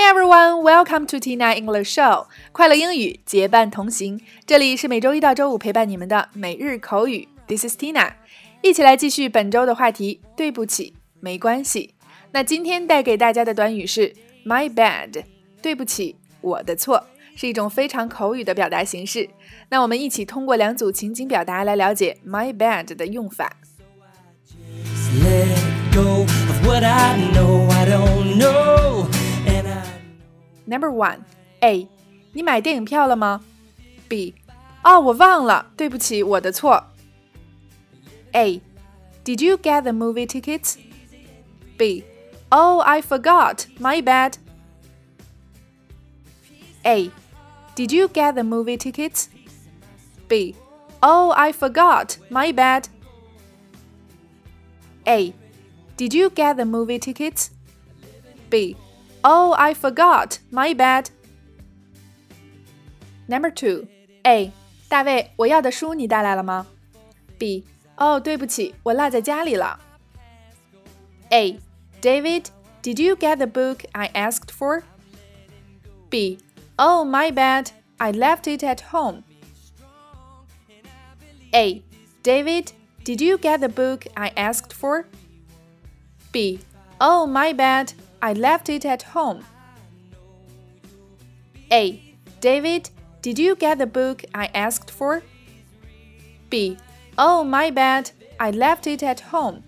everyone, welcome to Tina English Show. 快乐英语结伴同行，这里是每周一到周五陪伴你们的每日口语。This is Tina. 一起来继续本周的话题，对不起，没关系。那今天带给大家的短语是 My bad. 对不起，我的错，是一种非常口语的表达形式。那我们一起通过两组情景表达来了解 My bad 的用法。Number 1 A. 你买电影票了吗？ B. 我忘了，对不起，我的错。 A. Did you get the movie tickets? B. I forgot, my bad. A. Did you get the movie tickets? B. I forgot, my bad. A. Did you get the movie tickets? B. I forgot, my bad. Number 2 A. 大卫，我要的书你带来了吗？ B. 对不起，我落在家里了。 A. David, did you get the book I asked for? B. My bad, I left it at home. A. David, did you get the book I asked for? B. My bad, I left it at home. A. David, did you get the book I asked for? B. My bad, I left it at home.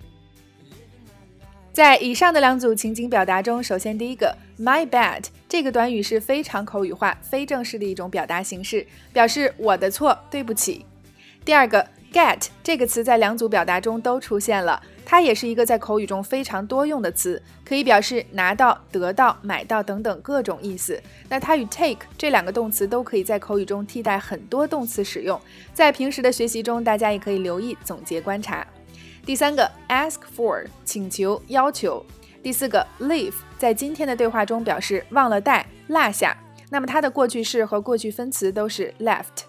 在以上的两组情景表达中，首先第一个 My bad 这个短语是非常口语化、非正式的一种表达形式，表示我的错，对不起。第二个 get 这个词在两组表达中都出现了，它也是一个在口语中非常多用的词，可以表示拿到、得到、买到等等各种意思。那它与 take 这两个动词都可以在口语中替代很多动词使用，在平时的学习中，大家也可以留意、总结、观察。第三个 ask for 请求、要求。第四个 leave 在今天的对话中表示忘了带、落下，那么它的过去式和过去分词都是 left。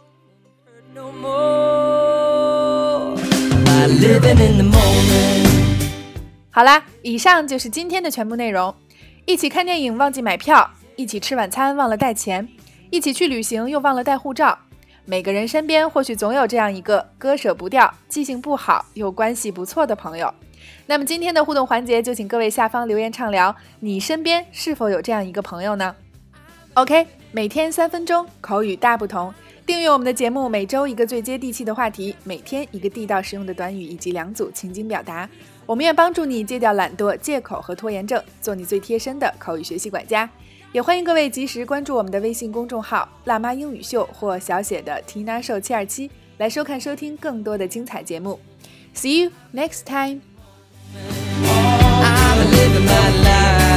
好啦，以上就是今天的全部内容。一起看电影忘记买票，一起吃晚餐忘了带钱，一起去旅行又忘了带护照。每个人身边或许总有这样一个割舍不掉、记性不好又关系不错的朋友。那么今天的互动环节就请各位下方留言畅聊，你身边是否有这样一个朋友呢？ OK， 每天3分钟，口语大不同。订阅我们的节目，每周一个最接地气的话题，每天一个地道实用的短语以及2组情景表达。我们愿帮助你戒掉懒惰、借口和拖延症，做你最贴身的口语学习管家。也欢迎各位及时关注我们的微信公众号辣妈英语秀或小写的 Tina Show 727来收看收听更多的精彩节目。 See you next time. I'm living my life.